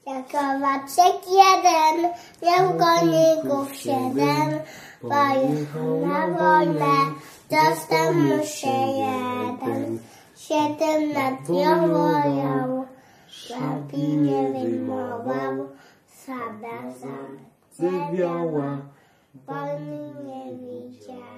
Jak owaczek jeden, miał koników 7, pojechał na wojnę, dostał mu się 1. 7 lat ją wołał, szlapi nie wyjmował, sabra zamknęła, wojny nie widział.